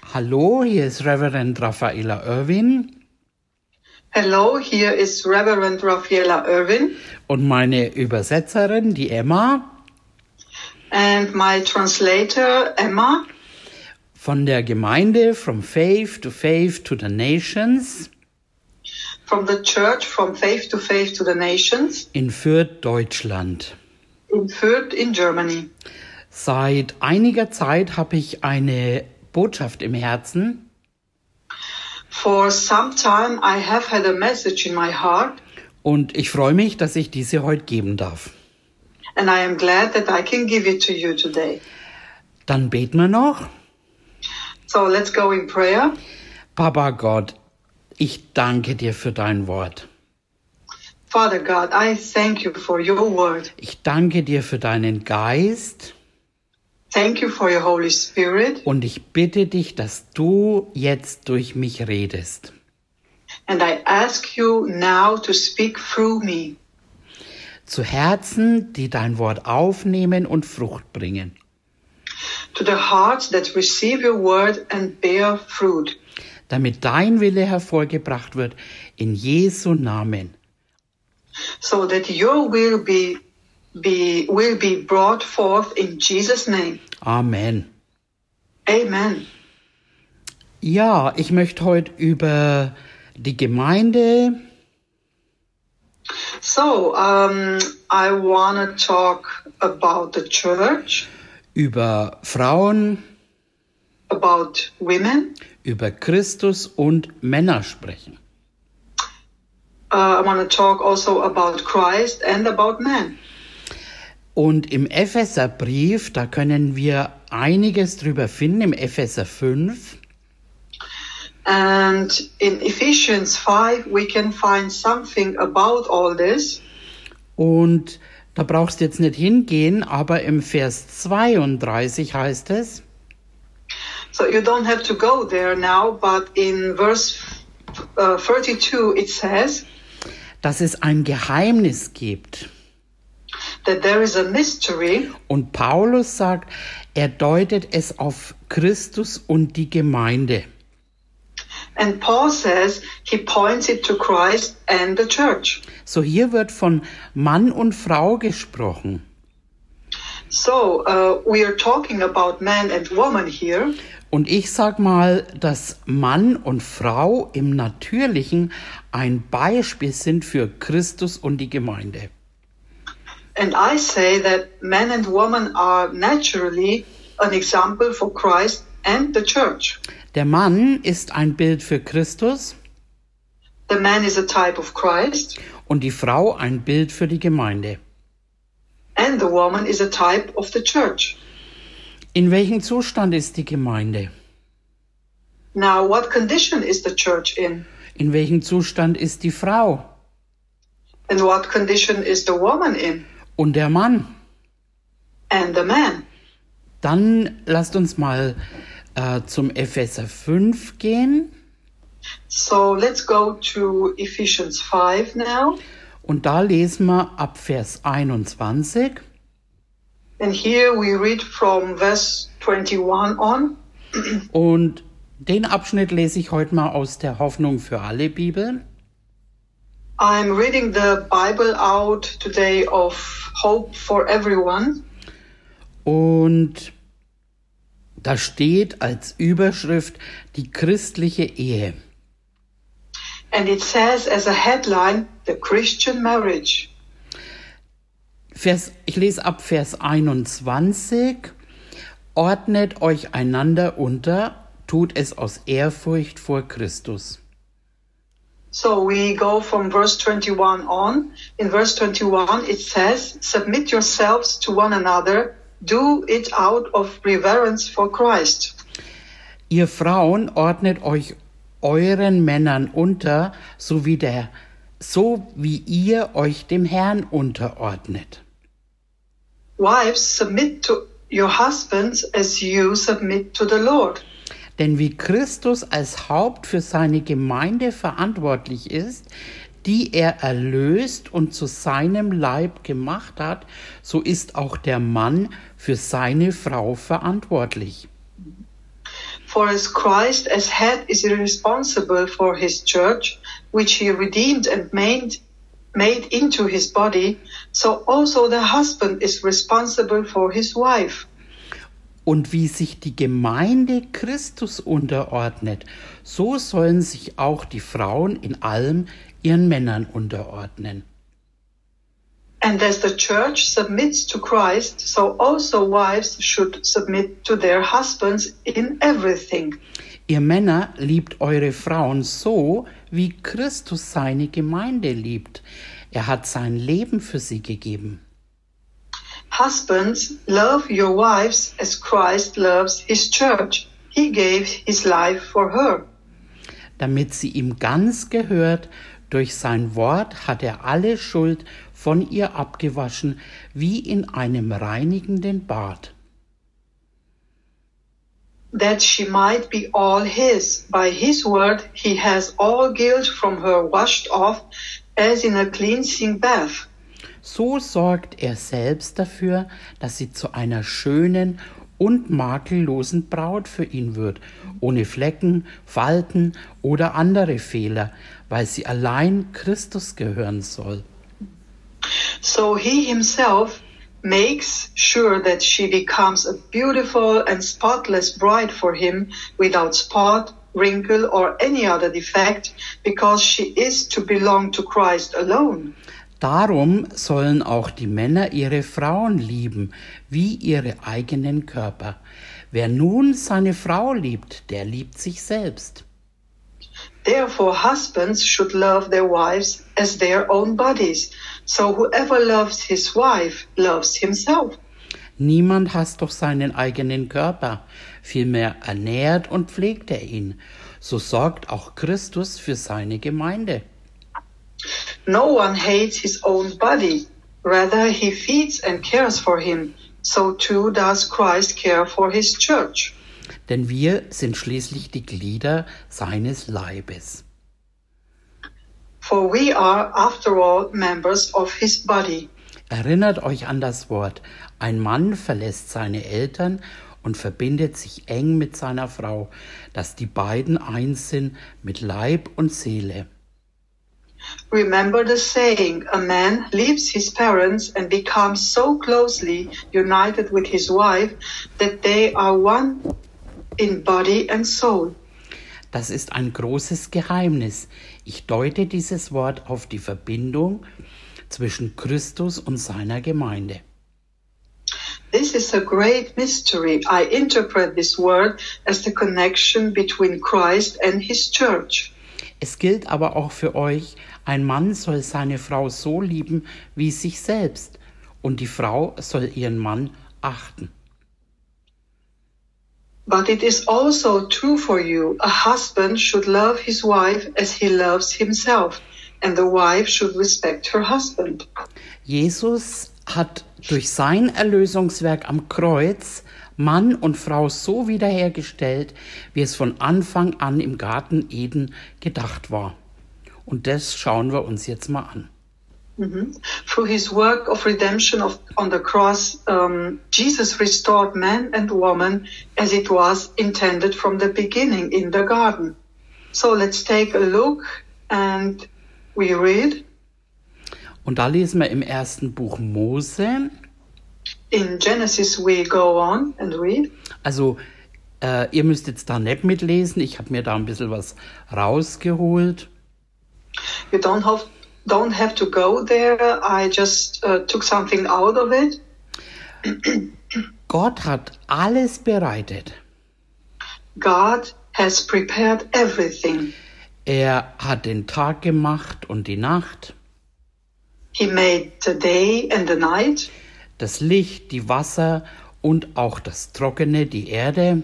Hallo, hier ist Reverend Raffaella Irwin. Hello, here is Reverend Raffaella Irwin. Und meine Übersetzerin, die Emma. And my translator, Emma. Von der Gemeinde From Faith to the Nations. From the church, from faith to the nations. In Fürth, Deutschland. In Fürth, in Germany. Seit einiger Zeit habe ich eine Botschaft im Herzen. For some time I have had a message in my heart. Und ich freue mich, dass ich diese heute geben darf. And I am glad that I can give it to you today. Dann beten wir noch. So let's go in prayer. Papa Gott, ich danke dir für dein Wort. Father God, I thank you for your word. Ich danke dir für deinen Geist. Thank you for your Holy Spirit. Und ich bitte dich, dass du jetzt durch mich redest. And I ask you now to speak through me. Zu Herzen, die dein Wort aufnehmen und Frucht bringen. To the hearts that receive your word and bear fruit. Damit dein Wille hervorgebracht wird, in Jesu Namen. So that your will be brought forth in Jesus' name. Amen. Amen. Ja, ich möchte heute über die Gemeinde. So, I want to talk about the church. Über Frauen. About women. Über Christus und Männer sprechen. I want to talk also about Christ and about men. Und im Epheserbrief, da können wir einiges drüber finden, im Epheser 5. And in Ephesians 5 we can find something about all this. Und da brauchst du jetzt nicht hingehen, aber im Vers 32 heißt es. So you don't have to go there now, but in verse 32 it says, dass es ein Geheimnis gibt. That there is a mystery. Und Paulus sagt, er deutet es auf Christus und die Gemeinde. And Paul says he points it to Christ and the church. So hier wird von Mann und Frau gesprochen. So we are talking about man and woman here. Und ich sag mal, dass Mann und Frau im Natürlichen ein Beispiel sind für Christus und die Gemeinde. And I say that man and woman are naturally an example for Christ and the church. Der Mann ist ein Bild für Christus. The man is a type of Christ. Und die Frau ein Bild für die Gemeinde. And the woman is a type of the church. In welchem Zustand ist die Gemeinde? Now, what condition is the church in? In welchem Zustand ist die Frau? And what condition is the woman in? Und der Mann? And the man. Dann lasst uns mal zum Epheser 5 gehen. So let's go to Ephesians 5 now. Und da lesen wir ab Vers 21. And here we read from verse 21 on. Und den Abschnitt lese ich heute mal aus der Hoffnung für alle Bibel. I'm reading the Bible out today of Hope for Everyone. Und da steht als Überschrift die christliche Ehe. And it says as a headline, the Christian marriage. Ich lese ab Vers 21. Ordnet euch einander unter, tut es aus Ehrfurcht vor Christus. So we go from verse 21 on. In verse 21 it says, submit yourselves to one another, do it out of reverence for Christ. Ihr Frauen ordnet euch euren Männern unter, so wie ihr euch dem Herrn unterordnet. Wives, submit to your husbands as you submit to the Lord. Denn wie Christus als Haupt für seine Gemeinde verantwortlich ist, die er erlöst und zu seinem Leib gemacht hat, so ist auch der Mann für seine Frau verantwortlich. For as Christ as head is responsible for his church, which he redeemed and made into his body, so also the husband is responsible for his wife. Und wie sich die Gemeinde Christus unterordnet, so sollen sich auch die Frauen in allem ihren Männern unterordnen. And as the church submits to Christ, so also wives should submit to their husbands in everything. Ihr Männer liebt eure Frauen so, wie Christus seine Gemeinde liebt. Er hat sein Leben für sie gegeben. Husbands, love your wives as Christ loves his church. He gave his life for her. Damit sie ihm ganz gehört, durch sein Wort hat er alle Schuld von ihr abgewaschen, wie in einem reinigenden Bad. That she might be all his. By his word he has all guilt from her washed off, as in a cleansing bath. So sorgt er selbst dafür, dass sie zu einer schönen und makellosen Braut für ihn wird, ohne Flecken, Falten oder andere Fehler, weil sie allein Christus gehören soll. So he himself makes sure that she becomes a beautiful and spotless bride for him, without spot, wrinkle or any other defect, because she is to belong to Christ alone. Darum sollen auch die Männer ihre Frauen lieben, wie ihre eigenen Körper. Wer nun seine Frau liebt, der liebt sich selbst. Therefore husbands should love their wives as their own bodies. So whoever loves his wife loves himself. Niemand hasst doch seinen eigenen Körper, vielmehr ernährt und pflegt er ihn. So sorgt auch Christus für seine Gemeinde. No one hates his own body, rather he feeds and cares for him. So too does Christ care for his church. Denn wir sind schließlich die Glieder seines Leibes. For we are, after all, members of his body. Erinnert euch an das Wort: Ein Mann verlässt seine Eltern und verbindet sich eng mit seiner Frau, dass die beiden eins sind mit Leib und Seele. Remember the saying, a man leaves his parents and becomes so closely united with his wife that they are one in body and soul. Das ist ein großes Geheimnis. Ich deute dieses Wort auf die Verbindung zwischen Christus und seiner Gemeinde. This is a great mystery. I interpret this word as the connection between Christ and his church. Es gilt aber auch für euch, ein Mann soll seine Frau so lieben wie sich selbst, und die Frau soll ihren Mann achten. But it is also true for you. A husband should love his wife as he loves himself, and the wife should respect her husband. Jesus hat durch sein Erlösungswerk am Kreuz Mann und Frau so wiederhergestellt, wie es von Anfang an im Garten Eden gedacht war. Und das schauen wir uns jetzt mal an. Through his work of redemption on the cross, Jesus restored man and woman as it was intended from the beginning in the garden. So let's take a look and we read. Und da lesen wir im ersten Buch Mose. In Genesis we go on and read. Also ihr müsst jetzt da nicht mitlesen, ich habe mir da ein bisschen was rausgeholt. You don't have to go there. I just took something out of it. Gott hat alles bereitet. God has prepared everything. Er hat den Tag gemacht und die Nacht. He made the day and the night. Das Licht, die Wasser und auch das Trockene, die Erde.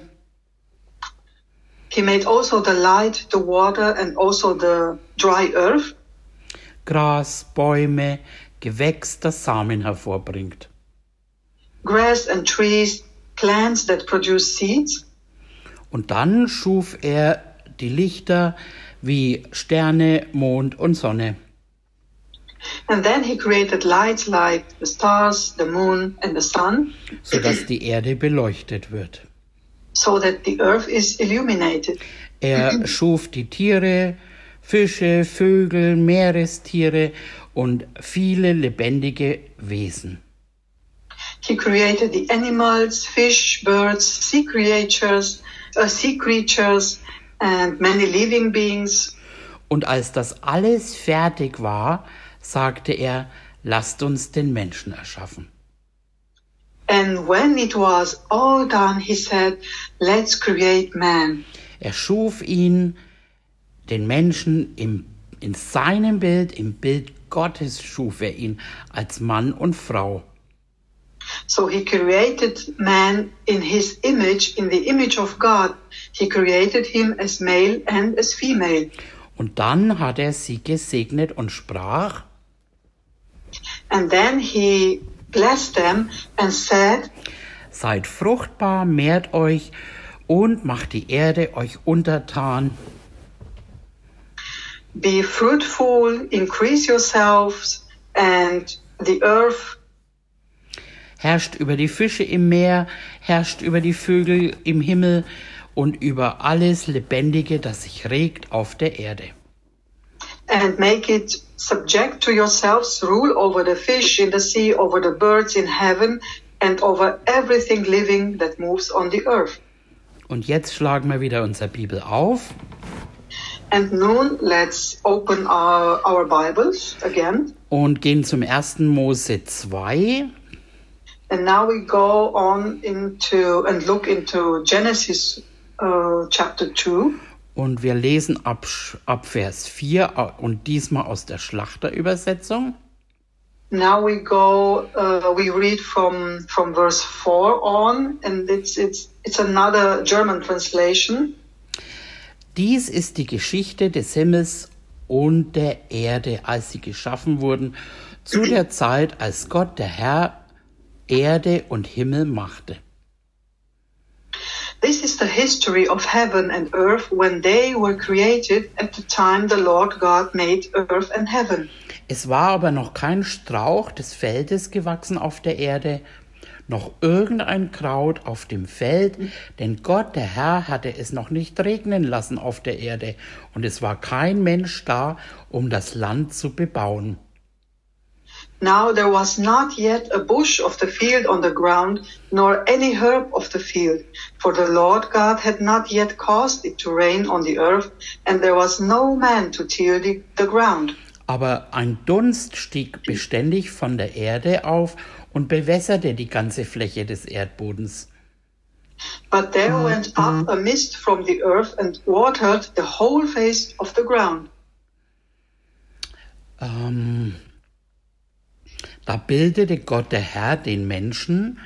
He made also the light, the water and also the dry earth. Gras, Bäume, Gewächs, das Samen hervorbringt. Grass and trees, plants that produce seeds. Und dann schuf er die Lichter wie Sterne, Mond und Sonne. And then he created lights like the stars, the moon and the sun. Sodass die Erde beleuchtet wird. so that the earth is illuminated. Er schuf die Tiere, Fische, Vögel, Meerestiere und viele lebendige Wesen. He created the animals, fish, birds, sea creatures, and many living beings. Und als das alles fertig war, sagte er, lasst uns den Menschen erschaffen. And when it was all done, he said, let's create man. Er schuf ihn, den Menschen, in seinem Bild, im Bild Gottes schuf er ihn als Mann und Frau. So he created man in his image, in the image of God. He created him as male and as female. Und dann hat er sie gesegnet und sprach, and then he blessed them and said, seid fruchtbar, mehrt euch und macht die Erde euch untertan. Be fruitful, increase yourselves, and the earth. Herrscht über die Fische im Meer, herrscht über die Vögel im Himmel und über alles Lebendige, das sich regt auf der Erde. And make it subject to yourselves, rule over the fish in the sea, over the birds in heaven, and over everything living that moves on the earth. Und jetzt schlagen wir wieder unsere Bibel auf. And nun, let's open our Bibles again. Und gehen zum 1. Mose 2. And now we go on into and look into Genesis chapter 2. Und wir lesen ab Vers 4 und diesmal aus der Schlachterübersetzung. Now we go, we read from verse 4 on, and it's another German translation. Dies ist die Geschichte des Himmels und der Erde, als sie geschaffen wurden, zu der Zeit, als Gott, der Herr, Erde und Himmel machte. This is the history of heaven and earth when they were created at the time the Lord God made earth and heaven. Es war aber noch kein Strauch des Feldes gewachsen auf der Erde, noch irgendein Kraut auf dem Feld, denn Gott, der Herr, hatte es noch nicht regnen lassen auf der Erde, und es war kein Mensch da, um das Land zu bebauen. Now there was not yet a bush of the field on the ground, nor any herb of the field, for the Lord God had not yet caused it to rain on the earth, and there was no man to till the ground. Aber ein Dunst stieg beständig von der Erde auf und bewässerte die ganze Fläche des Erdbodens. But there went up a mist from the earth and watered the whole face of the ground. Da bildete Gott, der Herr, den Menschen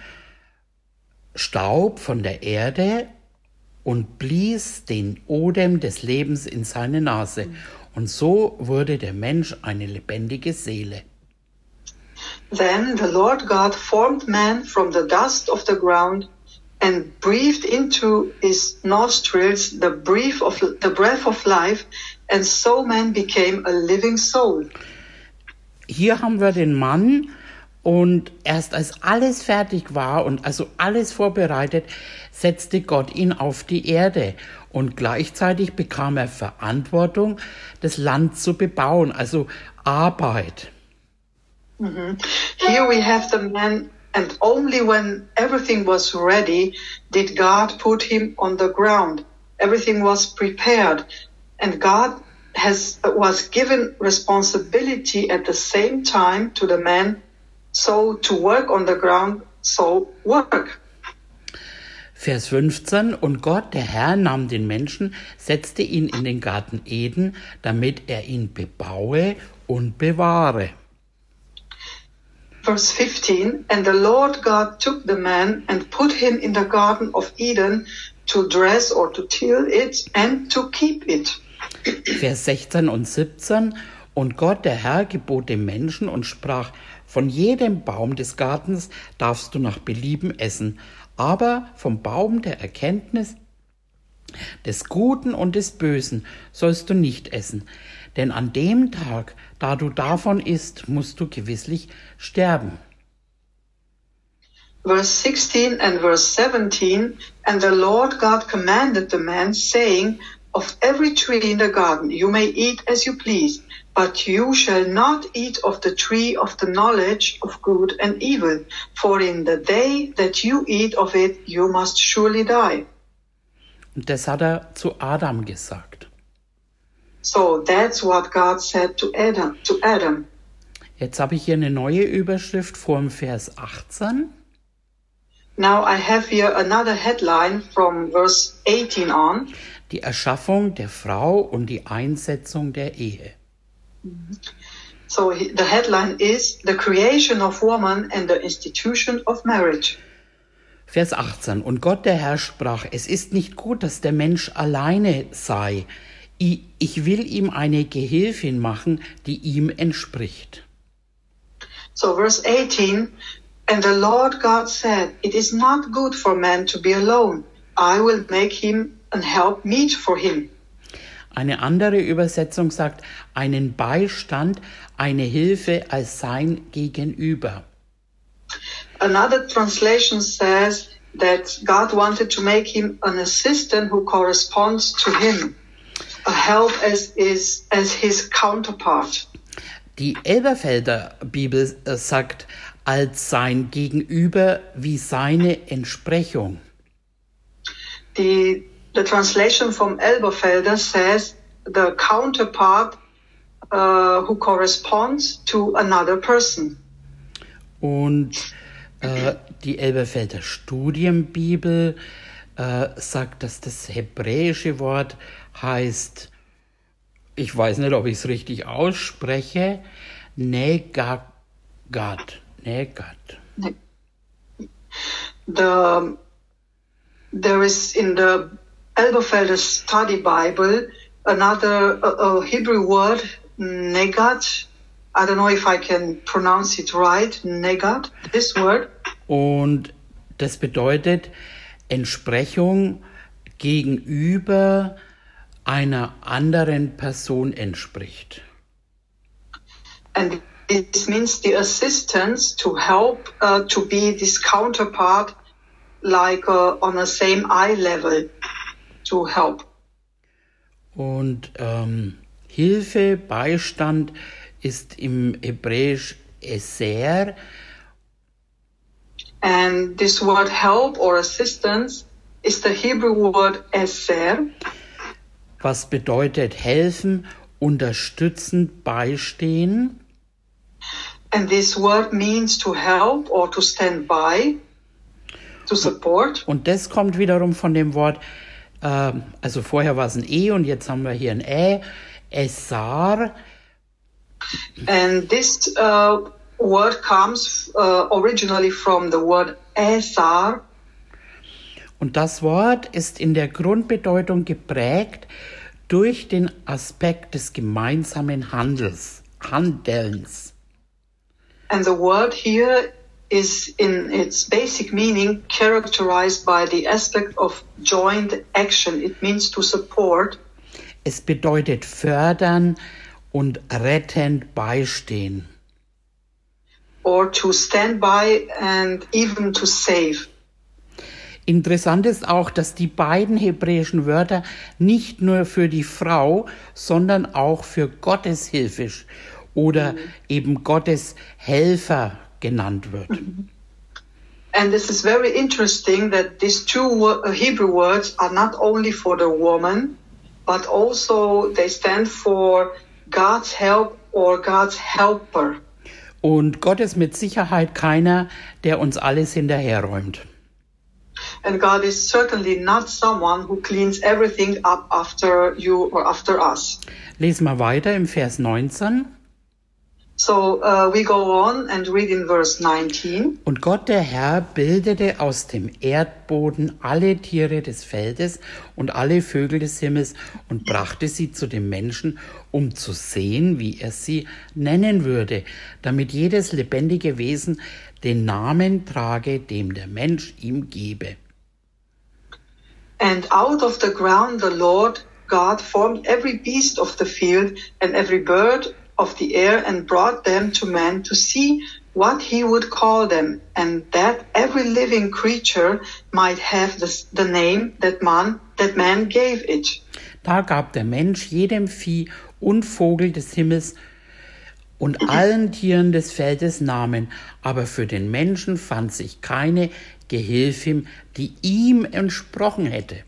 Staub von der Erde und blies den Odem des Lebens in seine Nase. Und so wurde der Mensch eine lebendige Seele. Then the Lord God formed man from the dust of the ground and breathed into his nostrils the breath of life, and so man became a living soul. Hier haben wir den Mann, und erst als alles fertig war und also alles vorbereitet, setzte Gott ihn auf die Erde, und gleichzeitig bekam er Verantwortung, das Land zu bebauen, also Arbeit. Here we have the man, and only when everything was ready did God put him on the ground. Everything was prepared, and God was given responsibility at the same time to the man, so to work on the ground, so work. Vers 15, und Gott, der Herr, nahm den Menschen, setzte ihn in den Garten Eden, damit er ihn bebaue und bewahre. Verse 15, and the Lord God took the man and put him in the Garden of Eden to dress or to till it and to keep it. Vers 16 und 17, und Gott, der Herr, gebot dem Menschen und sprach, von jedem Baum des Gartens darfst du nach Belieben essen, aber vom Baum der Erkenntnis des Guten und des Bösen sollst du nicht essen, denn an dem Tag, da du davon isst, musst du gewisslich sterben. verse 16 and verse 17, and the Lord God commanded the man, saying, of every tree in the garden you may eat as you please, but you shall not eat of the tree of the knowledge of good and evil, for in the day that you eat of it, you must surely die. Und das hat er zu Adam gesagt. So that's what God said to Adam. Jetzt habe ich hier eine neue Überschrift vor dem Vers 18. Now I have here another headline from verse 18 on. Die Erschaffung der Frau und die Einsetzung der Ehe. So the headline is The Creation of Woman and the Institution of Marriage. Vers 18. Und Gott der Herr sprach, es ist nicht gut, dass der Mensch alleine sei. Ich will ihm eine Gehilfin machen, die ihm entspricht. So verse 18, and the Lord God said, it is not good for man to be alone. I will make him an helpmeet for him. Eine andere Übersetzung sagt, einen Beistand, eine Hilfe als sein Gegenüber. Another translation says that God wanted to make him an assistant who corresponds to him, a help as his counterpart. Die Elberfelder Bibel sagt, als sein Gegenüber wie seine Entsprechung. The translation from Elberfelder says the counterpart who corresponds to another person. Und die Elberfelder Studienbibel sagt, dass das hebräische Wort heißt, ich weiß nicht, ob ich es richtig ausspreche, Negat. There is in the Elberfelder Study Bible another Hebrew word, negat. I don't know if I can pronounce it right, negat, this word. Und das bedeutet Entsprechung gegenüber einer anderen Person entspricht. And this means the assistance to help to be this counterpart like on the same eye level to help. Und Hilfe, Beistand ist im Hebräisch Eser. And this word help or assistance is the Hebrew word eser. Was bedeutet helfen, unterstützen, beistehen. And this word means to help or to stand by, to support. Und das kommt wiederum von dem Wort, also vorher war es ein E und jetzt haben wir hier ein Ä, Esar. And this word comes originally from the word esar. Und das Wort ist in der Grundbedeutung geprägt durch den Aspekt des gemeinsamen Handelns. And the word here is in its basic meaning characterized by the aspect of joint action. It means to support. Es bedeutet fördern und rettend beistehen. Or to stand by and even to save. Interessant ist auch, dass die beiden hebräischen Wörter nicht nur für die Frau, sondern auch für Gottes Hilfe oder eben Gottes Helfer genannt wird. And this is very interesting that these two Hebrew words are not only for the woman, but also they stand for God's help or God's helper. Und Gott ist mit Sicherheit keiner, der uns alles hinterherräumt. And God is certainly not someone who cleans everything up after you or after us. Lesen wir weiter im Vers 19. So we go on and read in verse 19. Und Gott der Herr bildete aus dem Erdboden alle Tiere des Feldes und alle Vögel des Himmels und brachte sie zu dem Menschen, um zu sehen, wie er sie nennen würde, damit jedes lebendige Wesen den Namen trage, dem der Mensch ihm gebe. And out of the ground the Lord God formed every beast of the field and every bird of the air and brought them to man to see what he would call them, and that every living creature might have the name that man gave it. Da gab der Mensch jedem Vieh und Vogel des Himmels und allen Tieren des Feldes Namen, aber für den Menschen fand sich keine Gehilfin, die ihm entsprochen hätte.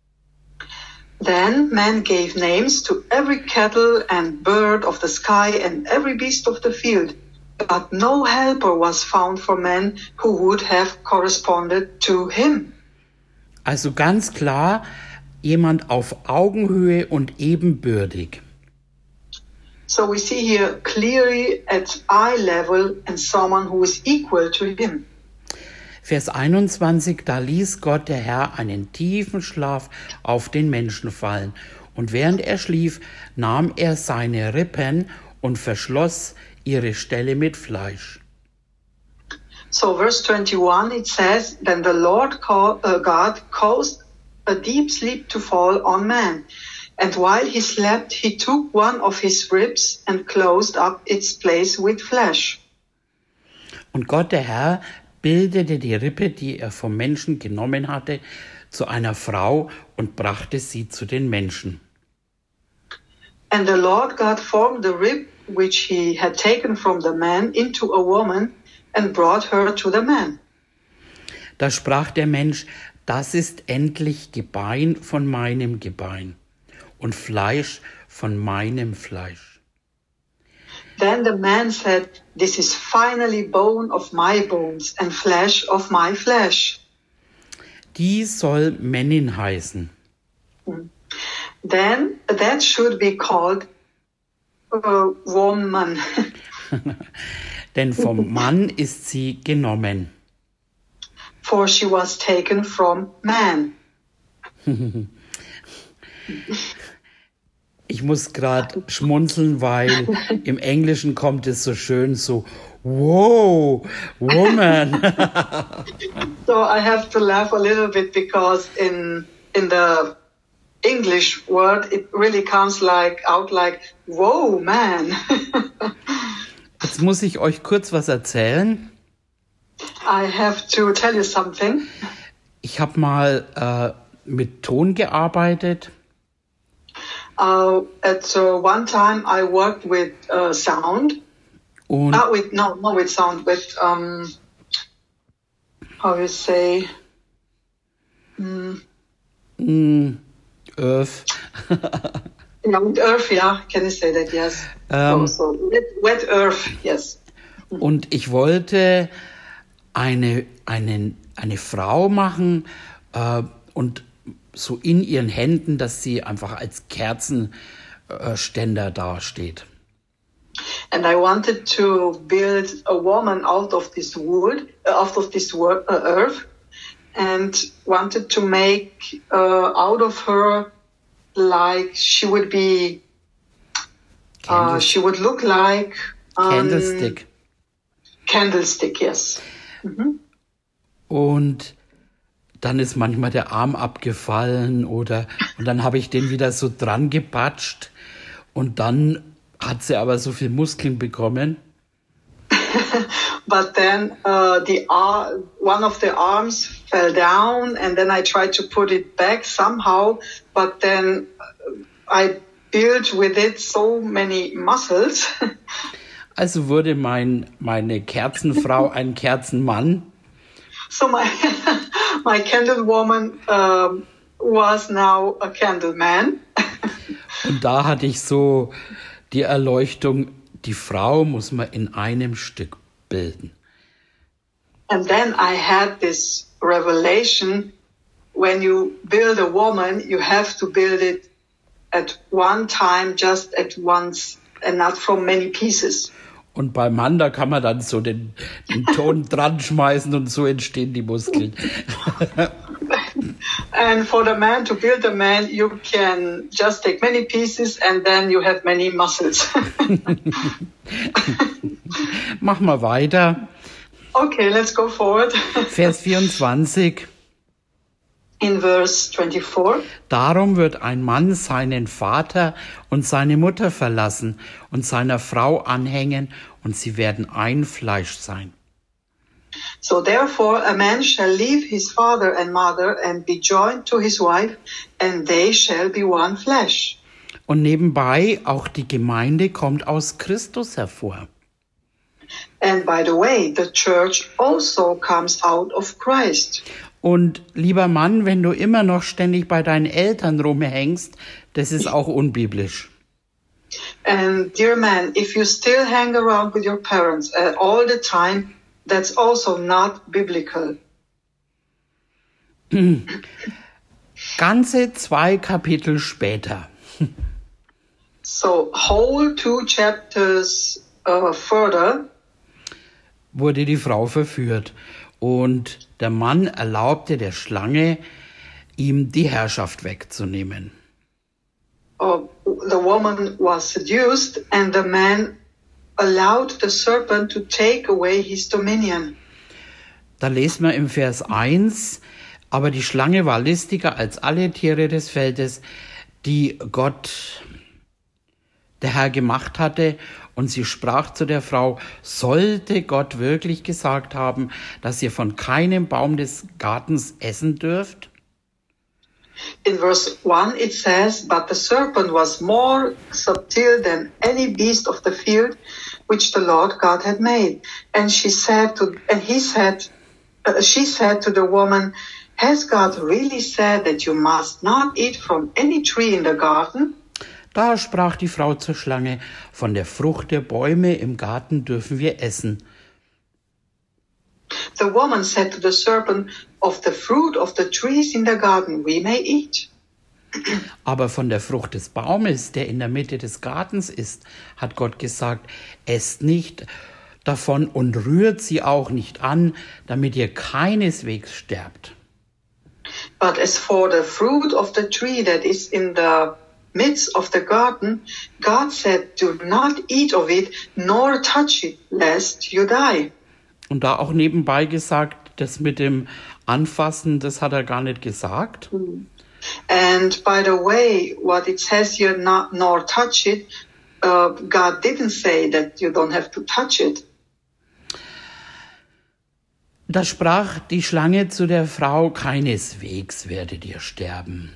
Then man gave names to every cattle and bird of the sky and every beast of the field, but no helper was found for man who would have corresponded to him. Also ganz klar, jemand auf Augenhöhe und ebenbürtig. So we see here clearly at eye level and someone who is equal to him. Vers 21, da ließ Gott der Herr einen tiefen Schlaf auf den Menschen fallen. Und während er schlief, nahm er seine Rippen und verschloss ihre Stelle mit Fleisch. So verse 21, it says, Then the Lord God caused a deep sleep to fall on man. And while he slept, he took one of his ribs and closed up its place with flesh. Und Gott, der Herr, bildete die Rippe, die er vom Menschen genommen hatte, zu einer Frau und brachte sie zu den Menschen. And the Lord God formed the rib which he had taken from the man into a woman and brought her to the man. Da sprach der Mensch, das ist endlich Gebein von meinem Gebein und Fleisch von meinem Fleisch. Then the man said, This is finally bone of my bones and flesh of my flesh. Die soll Männin heißen. Then that should be called a woman. Denn vom Mann ist sie genommen. For she was taken from man. Ich muss gerade schmunzeln, weil im Englischen kommt es so schön so, wow, woman. So I have to laugh a little bit because in the English word it really comes out like, whoa, man. Jetzt muss ich euch kurz was erzählen. I have to tell you something. Ich habe mal mit Ton gearbeitet. At one time I worked with sound. Und Not with sound, with how you say Earth. Yeah, with earth, yeah. Can you say that? Yes. So wet earth, yes. Und ich wollte eine Frau machen und so in ihren Händen, dass sie einfach als Kerzenständer dasteht. And I wanted to build a woman out of this earth, and wanted to make out of her like she would be. She would look like Candlestick. Candlestick, yes. Mhm. Und dann ist manchmal der Arm abgefallen und dann habe ich den wieder so dran gepatscht und dann hat sie aber so viel Muskeln bekommen. But then one of the arms fell down and then I tried to put it back somehow, but then I built with it so many muscles. Also wurde meine Kerzenfrau ein Kerzenmann. So my candle woman was now a candle man. Und da hatte ich so die Erleuchtung, die Frau muss man in einem Stück bilden. And then I had this revelation, when you build a woman, you have to build it at one time, just at once, and not from many pieces. Und beim Mann, da kann man dann so den Ton dran schmeißen und so entstehen die Muskeln. And for the man, to build a man, you can just take many pieces and then you have many muscles. Mach mal weiter. Okay, let's go forward. Vers 24. In verse 24. Darum wird ein Mann seinen Vater und seine Mutter verlassen und seiner Frau anhängen und sie werden ein Fleisch sein. So therefore a man shall leave his father and mother and be joined to his wife, and they shall be one flesh. Und nebenbei, auch die Gemeinde kommt aus Christus hervor. And by the way, the church also comes out of Christ. Und lieber Mann, wenn du immer noch ständig bei deinen Eltern rumhängst, das ist auch unbiblisch. And dear man, if you still hang around with your parents all the time, that's also not biblical. Ganze 2 Kapitel später. So whole 2 chapters further, wurde die Frau verführt und der Mann erlaubte der Schlange, ihm die Herrschaft wegzunehmen. the woman was seduced and the man allowed the serpent to take away his dominion. Da lesen wir im Vers 1, aber die Schlange war listiger als alle Tiere des Feldes, die Gott, der Herr, gemacht hatte. Und sie sprach zu der Frau, sollte Gott wirklich gesagt haben, dass ihr von keinem Baum des Gartens essen dürft? In verse 1 it says, but the serpent was more subtle than any beast of the field which the Lord God had made. And she said to the woman, has God really said that you must not eat from any tree in the garden? Da sprach die Frau zur Schlange, von der Frucht der Bäume im Garten dürfen wir essen. The woman said to the serpent, of the fruit of the trees in the garden we may eat. Aber von der Frucht des Baumes, der in der Mitte des Gartens ist, hat Gott gesagt, esst nicht davon und rührt sie auch nicht an, damit ihr keineswegs sterbt. But as for the fruit of the tree that is in the midst of the garden, God said, do not eat of it, nor touch it, lest you die. Und da auch nebenbei gesagt, das mit dem Anfassen, das hat er gar nicht gesagt. And by the way, what it says here, not nor touch it, God didn't say that you don't have to touch it. Da sprach die Schlange zu der Frau, keineswegs werdet ihr sterben.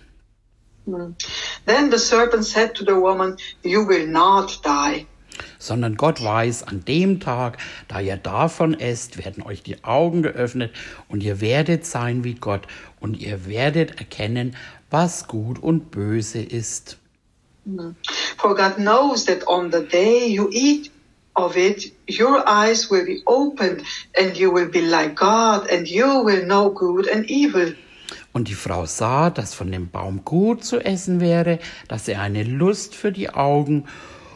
Then the serpent said to the woman, you will not die. Sondern Gott weiß, an dem Tag, da ihr davon esst, werden euch die Augen geöffnet und ihr werdet sein wie Gott und ihr werdet erkennen, was gut und böse ist. For God knows that on the day you eat of it, your eyes will be opened and you will be like God and you will know good and evil. Und die Frau sah, dass von dem Baum gut zu essen wäre, dass er eine Lust für die Augen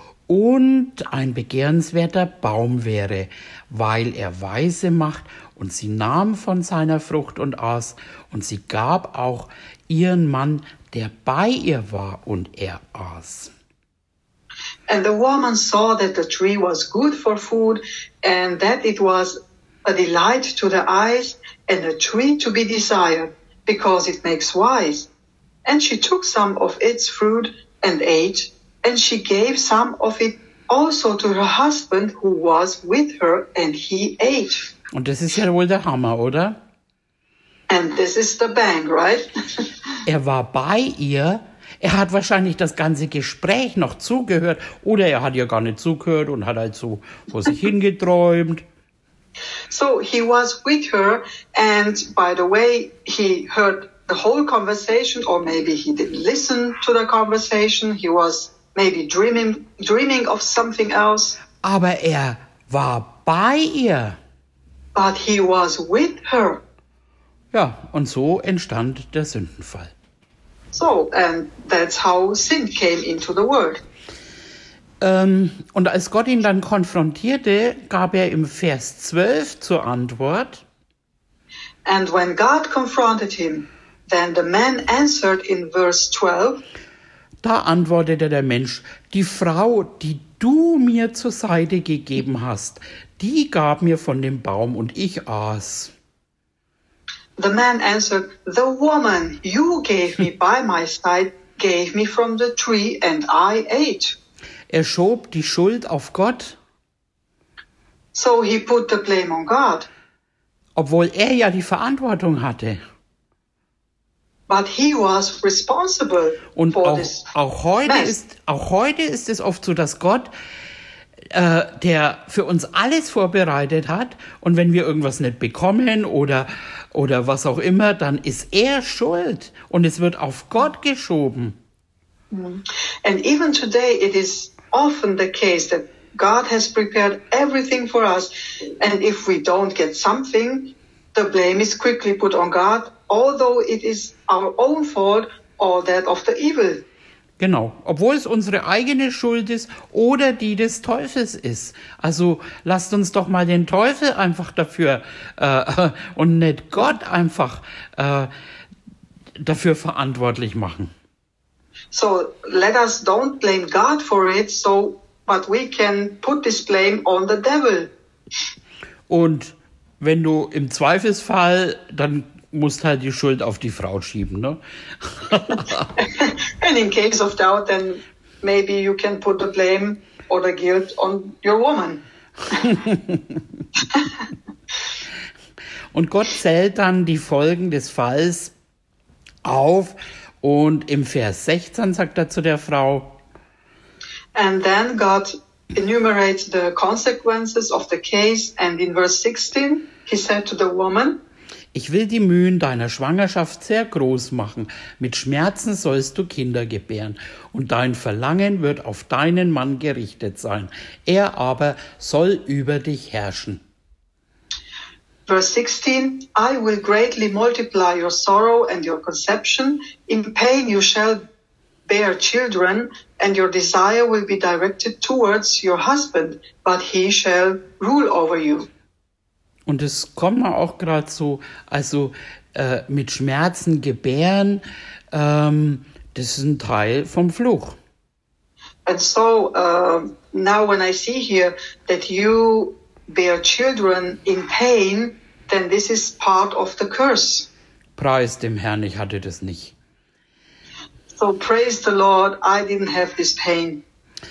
und ein begehrenswerter Baum wäre, weil er weise macht, und sie nahm von seiner Frucht und aß, und sie gab auch ihren Mann, der bei ihr war, und er aß. And the woman saw that the tree was good for food, and that it was a delight to the eyes, and a tree to be desired, because it makes wise. And she took some of its fruit and ate, and she gave some of it also to her husband who was with her, and he ate. Und das ist ja wohl der Hammer, oder? And this is the bang, right? Er war bei ihr, er hat wahrscheinlich das ganze Gespräch noch zugehört, oder er hat ja gar nicht zugehört und hat halt so vor sich hingeträumt. So he was with her, and by the way, he heard the whole conversation, or maybe he didn't listen to the conversation. He was maybe dreaming of something else. Aber er war bei ihr. But he was with her. Ja, und so entstand der Sündenfall. So, and that's how sin came into the world. Und als Gott ihn dann konfrontierte, gab er im Vers 12 zur Antwort. And when God confronted him, then the man answered in verse 12. Da antwortete der Mensch, die Frau, die du mir zur Seite gegeben hast, die gab mir von dem Baum und ich aß. The man answered, the woman you gave me by my side gave me from the tree and I ate. Er schob die Schuld auf Gott. So he put the blame on God. Obwohl er ja die Verantwortung hatte. But he was responsible Und for this auch heute mess. ist es oft so, dass Gott, der für uns alles vorbereitet hat, und wenn wir irgendwas nicht bekommen oder was auch immer, dann ist er schuld und es wird auf Gott geschoben. And even today it is often the case that God has prepared everything for us, and if we don't get something, the blame is quickly put on God, although it is our own fault or that of the evil. Genau, obwohl es unsere eigene Schuld ist oder die des Teufels ist. Also lasst uns doch mal den Teufel einfach dafür und nicht Gott einfach dafür verantwortlich machen. So let us don't blame God for it, but we can put this blame on the devil. Und wenn du im Zweifelsfall, dann musst halt die Schuld auf die Frau schieben, ne? And in case of doubt, then maybe you can put the blame or the guilt on your woman. Und Gott zählt dann die Folgen des Falls auf und im Vers 16 sagt er zu der Frau, And then God enumerates the consequences of the case, and in verse 16 he said to the woman, ich will die Mühen deiner Schwangerschaft sehr groß machen. Mit Schmerzen sollst du Kinder gebären. Und dein Verlangen wird auf deinen Mann gerichtet sein. Er aber soll über dich herrschen. Verse 16, I will greatly multiply your sorrow and your conception. In pain you shall bear children, and your desire will be directed towards your husband, but he shall rule over you. Und es kommt mir auch gerade so, also mit Schmerzen gebären, das ist ein Teil vom Fluch. And so now when I see here that you bear children in pain, then this is part of the curse. Preis dem Herrn, ich hatte das nicht. So praise the Lord, I didn't have this pain.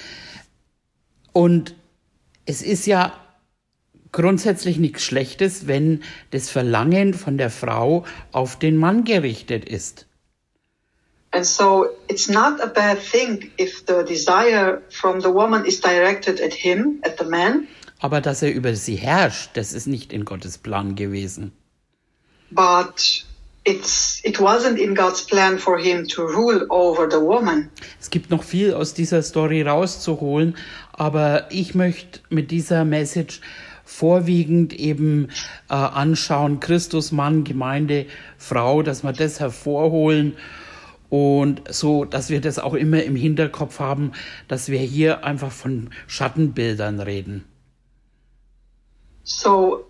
Und es ist ja grundsätzlich nichts Schlechtes, wenn das Verlangen von der Frau auf den Mann gerichtet ist. And so it's not a bad thing if the desire from the woman is directed at him, at the man. Aber dass er über sie herrscht, das ist nicht in Gottes Plan gewesen. But it wasn't in God's plan for him to rule over the woman. Es gibt noch viel aus dieser Story rauszuholen, aber ich möchte mit dieser Message vorwiegend eben anschauen, Christus, Mann, Gemeinde, Frau, dass wir das hervorholen und so, dass wir das auch immer im Hinterkopf haben, dass wir hier einfach von Schattenbildern reden. So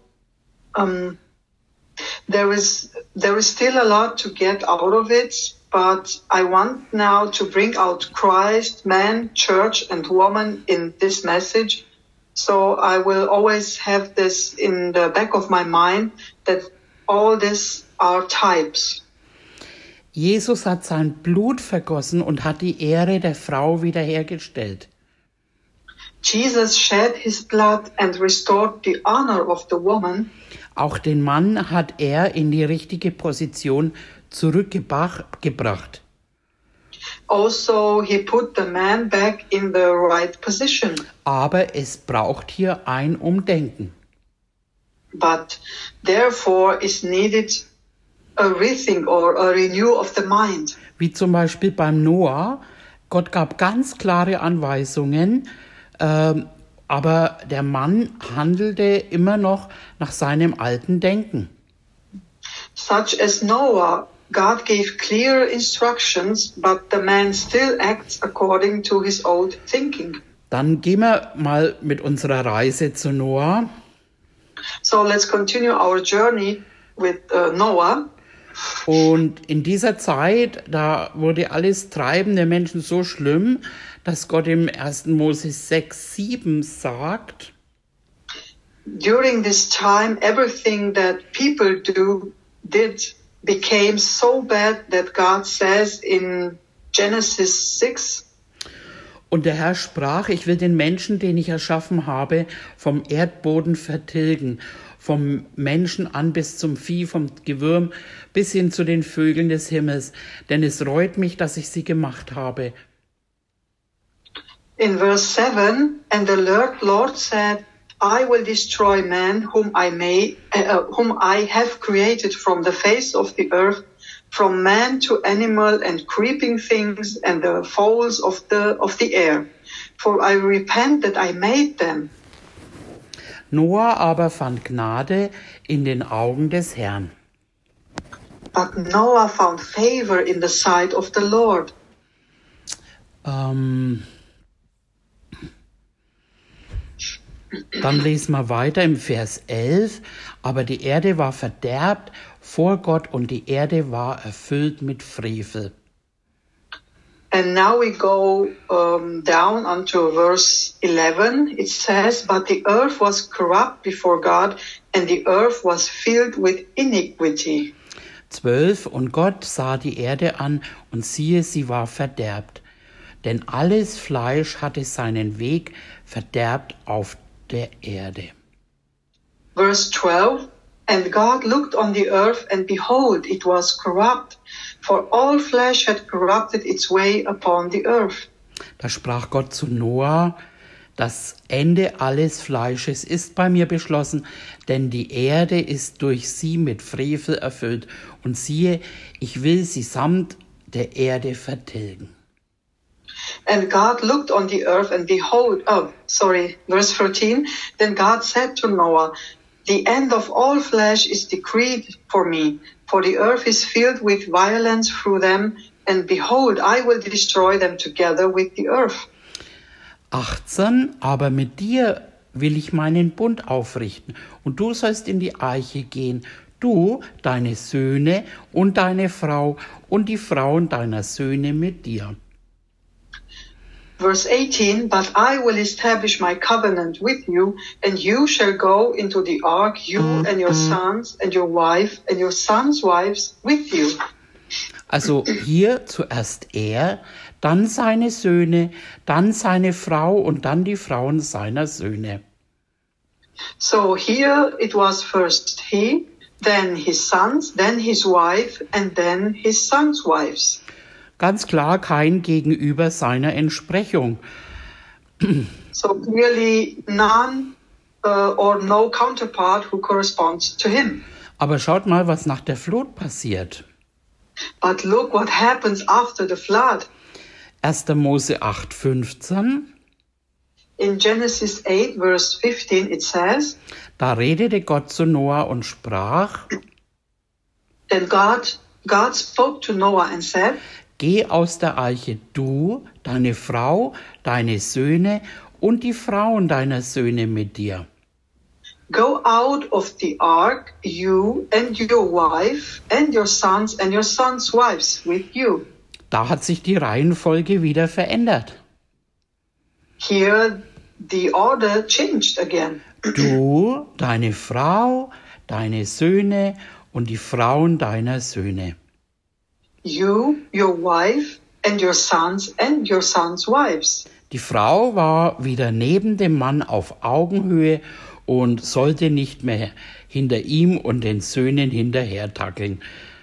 there is still a lot to get out of it, but I want now to bring out Christ, man, church, and woman in this message. So I will always have this in the back of my mind, that all this are types. Jesus hat sein Blut vergossen und hat die Ehre der Frau wiederhergestellt. Jesus shed his blood and restored the honor of the woman. Auch den Mann hat er in die richtige Position zurückgebracht. Also, he put the man back in the right position. Aber es braucht hier ein Umdenken. But therefore is needed a rethink or a renew of the mind. Wie zum Beispiel beim Noah. Gott gab ganz klare Anweisungen, aber der Mann handelte immer noch nach seinem alten Denken. Such as Noah, God gave clear instructions, but the man still acts according to his old thinking. Dann gehen wir mal mit unserer Reise zu Noah. So let's continue our journey with Noah. Und in dieser Zeit, da wurde alles Treiben der Menschen so schlimm, dass Gott im 1. Mose 6,7 sagt: During this time, everything that people did became so bad that God says in Genesis 6, Und der Herr sprach, ich will den Menschen, den ich erschaffen habe, vom Erdboden vertilgen, vom Menschen an bis zum Vieh, vom Gewürm bis hin zu den Vögeln des Himmels, denn es reut mich, dass ich sie gemacht habe. In verse 7, and the Lord said, I will destroy man whom I have created from the face of the earth, from man to animal and creeping things and the fowls of the air. For I repent that I made them. Noah aber fand Gnade in den Augen des Herrn. But Noah found favor in the sight of the Lord. Dann lesen wir weiter im Vers 11. Aber die Erde war verderbt vor Gott und die Erde war erfüllt mit Frevel. And now we go down unto verse 11. It says, but the earth was corrupt before God and the earth was filled with iniquity. 12. Und Gott sah die Erde an und siehe, sie war verderbt. Denn alles Fleisch hatte seinen Weg verderbt auf der Erde. Verse 12, and God looked on the earth, and behold, it was corrupt, for all flesh had corrupted its way upon the earth. Da sprach Gott zu Noah, das Ende alles Fleisches ist bei mir beschlossen, denn die Erde ist durch sie mit Frevel erfüllt. Und siehe, ich will sie samt der Erde vertilgen. And God looked on the earth and behold, verse 13, then God said to Noah, the end of all flesh is decreed for me, for the earth is filled with violence through them, and behold, I will destroy them together with the earth. 18, aber mit dir will ich meinen Bund aufrichten, und du sollst in die Arche gehen, du, deine Söhne und deine Frau und die Frauen deiner Söhne mit dir. Verse 18, but I will establish my covenant with you, and you shall go into the ark, you and your sons and your wife and your sons' wives with you. Also hier zuerst er, dann seine Söhne, dann seine Frau und dann die Frauen seiner Söhne. So here it was first he, then his sons, then his wife, and then his sons' wives. Ganz klar kein Gegenüber seiner Entsprechung. So clearly none or no counterpart who corresponds to him. Aber schaut mal, was nach der Flut passiert. But look what happens after the flood. 1. Mose 8,15. In Genesis 8, verse 15, it says, Da redete Gott zu Noah und sprach, Then God spoke to Noah and said, Geh aus der Arche, du, deine Frau, deine Söhne und die Frauen deiner Söhne mit dir. Go out of the ark, you and your wife and your sons wives with you. Da hat sich die Reihenfolge wieder verändert. Here the order changed again. Du, deine Frau, deine Söhne und die Frauen deiner Söhne. You, your wife, and your sons wives. Die Frau war wieder neben dem Mann auf Augenhöhe und sollte nicht mehr hinter ihm und den Söhnen hinterhertackeln.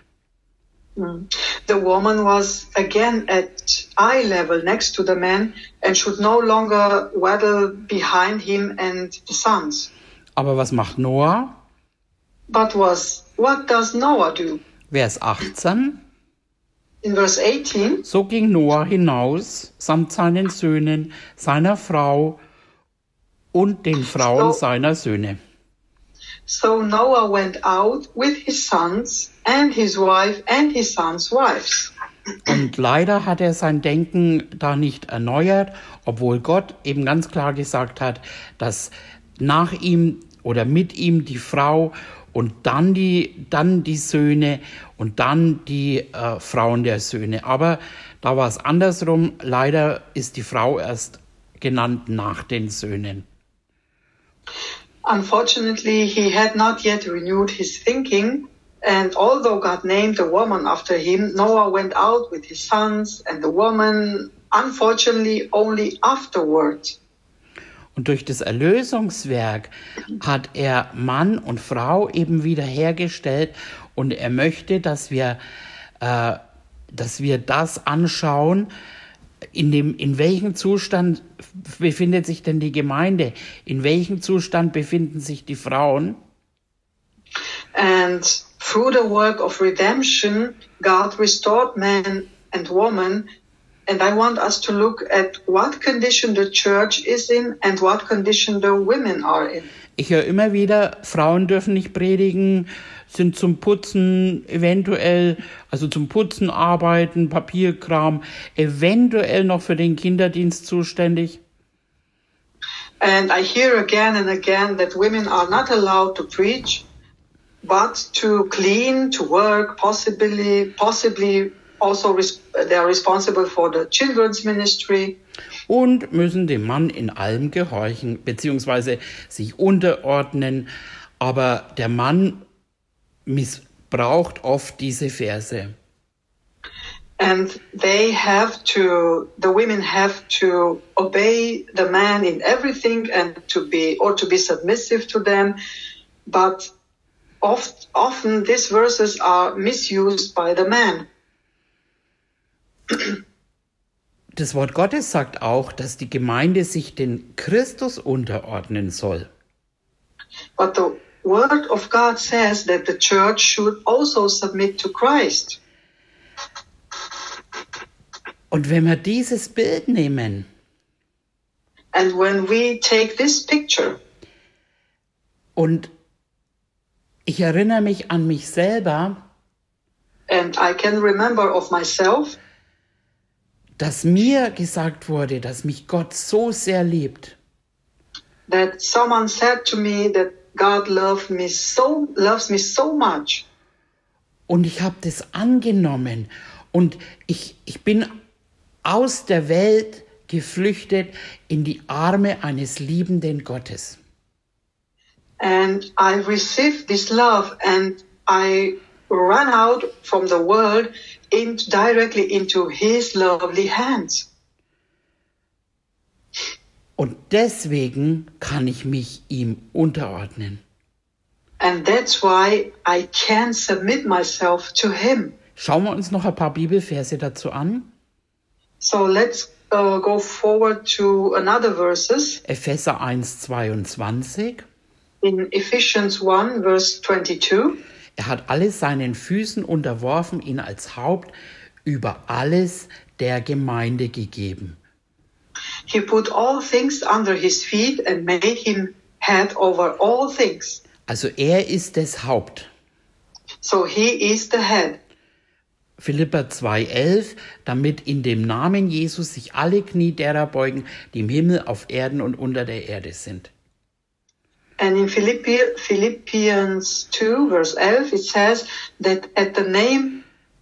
The woman was again at eye level next to the man and should no longer waddle behind him and the sons. Aber was macht Noah? But what does Noah do? Vers 18. In verse 18, So ging Noah hinaus, samt seinen Söhnen, seiner Frau und den Frauen seiner Söhne. So Noah went out with his sons and his wife and his sons' wives. Und leider hat er sein Denken da nicht erneuert, obwohl Gott eben ganz klar gesagt hat, dass nach ihm oder mit ihm die Frau und dann die Söhne und dann die Frauen der Söhne. Aber da war es andersrum. Leider ist die Frau erst genannt nach den Söhnen. Unfortunately, he had not yet renewed his thinking, and although God named the woman after him, Noah went out with his sons and the woman unfortunately only afterwards. Und durch das Erlösungswerk hat er Mann und Frau eben wiederhergestellt und er möchte, dass wir das anschauen, in welchem Zustand befindet sich denn die Gemeinde, in welchem Zustand befinden sich die Frauen. And through the work of redemption, God restored man and woman. And I want us to look at what condition the church is in and what condition the women are in. Ich höre immer wieder, Frauen dürfen nicht predigen, sind zum Putzen eventuell, also zum Putzen arbeiten, Papierkram, eventuell noch für den Kinderdienst zuständig. And I hear again and again that women are not allowed to preach, but to clean, to work, possibly also they are responsible for the children's ministry. Und müssen dem Mann in allem gehorchen, beziehungsweise sich unterordnen. Aber der Mann missbraucht oft diese Verse. And the women have to obey the man in everything and to be submissive to them. But often these verses are misused by the man. Das Wort Gottes sagt auch, dass die Gemeinde sich den Christus unterordnen soll. But the word of God says that the church should also submit to Christ. Und wenn wir dieses Bild nehmen, and when we take this picture, und ich erinnere mich an mich selber, and I can remember of myself, dass mir gesagt wurde, dass mich Gott so sehr liebt. That someone said to me that God loves me so much. Und ich habe das angenommen und ich bin aus der Welt geflüchtet in die Arme eines liebenden Gottes. And I received this love and I ran out from the world directly into his lovely hands. Und deswegen kann ich mich ihm unterordnen. And that's why I can submit myself to him. Schauen wir uns noch ein paar Bibelverse dazu an. So let's go forward to another verses. Epheser 1,22. In Ephesians 1, verse 22. Er hat alles seinen Füßen unterworfen, ihn als Haupt über alles der Gemeinde gegeben. He put all things under his feet and made him head over all things. Also er ist das Haupt. So he is the head. Philipper 2,11, damit in dem Namen Jesus sich alle Knie derer beugen, die im Himmel, auf Erden und unter der Erde sind. And in Philippians 2, verse 11, it says that in the name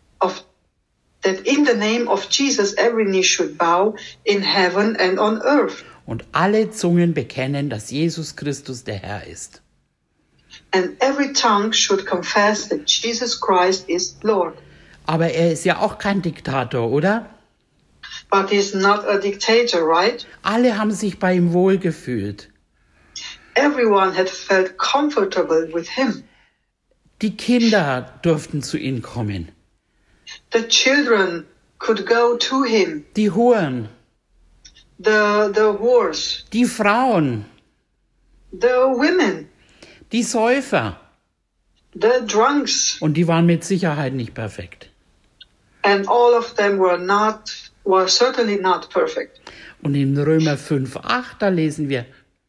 of Jesus every knee should bow in heaven and on earth. Und alle Zungen bekennen, dass Jesus Christus der Herr ist. And every tongue should confess that Jesus Christ is Lord. Aber er ist ja auch kein Diktator, oder? But he's not a dictator, right? Alle haben sich bei ihm wohlgefühlt. Everyone had felt comfortable with him. Die Kinder durften zu ihm kommen. The children could go to him. Die Huren. The whores. Die Frauen. The women. Die Säufer. The drunks. Und die waren mit Sicherheit nicht perfekt. And all of them were certainly not perfect. Und in Römer 5,8, da lesen wir: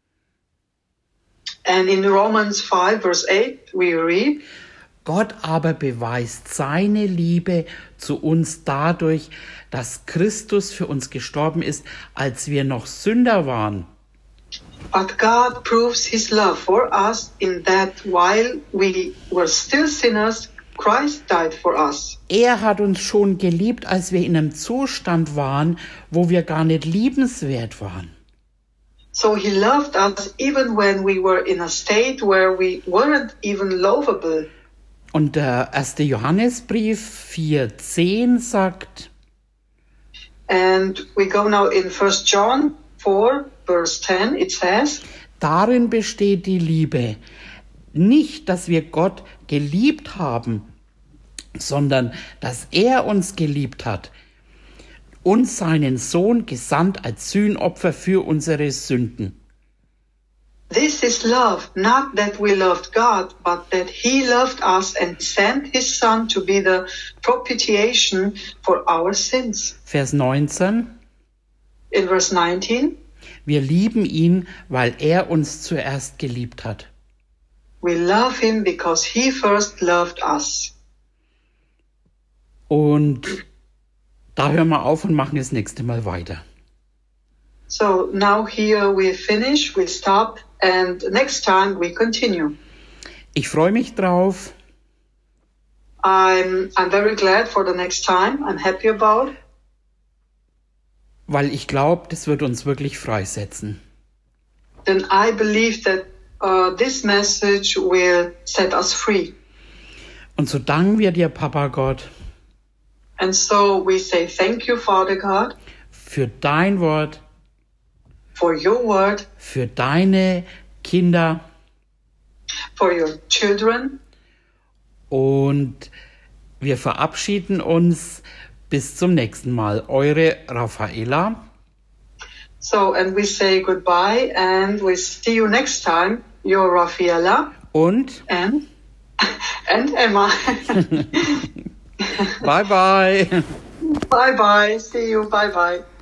And in Romans 5, verse 8, we read, Gott aber beweist seine Liebe zu uns dadurch, dass Christus für uns gestorben ist, als wir noch Sünder waren. But God proves his love for us in that while we were still sinners, Christ died for us. Er hat uns schon geliebt, als wir in einem Zustand waren, wo wir gar nicht liebenswert waren. So he loved us even when we were in a state where we weren't even lovable. Und der 1. Johannesbrief 4,10 sagt: And we go now in 1 John 4, verse 10. It says, Darin besteht die Liebe. Nicht, dass wir Gott geliebt haben, sondern dass er uns geliebt hat und seinen Sohn gesandt als Sühnopfer für unsere Sünden. This is love, not that we loved God, but that he loved us and sent his son to be the propitiation for our sins. Vers 19. In verse 19, Wir lieben ihn, weil er uns zuerst geliebt hat. we love him because he first loved us. Und da hören wir auf und machen das nächste Mal weiter. So now here we finish, we stop, and next time we continue. Ich freue mich drauf, I'm very glad for the next time. I'm happy about. weil ich glaube, das wird uns wirklich freisetzen. Then I believe that this message will set us free. Und so danken wir dir, Papa Gott, And so we say thank you, Father God, für dein Wort, for your word, für deine Kinder for your children. und wir verabschieden uns bis zum nächsten Mal. Eure Raffaella So, and we say goodbye and we see you next time. Your Raffaella und and Emma. bye bye. Bye bye. See you. Bye bye.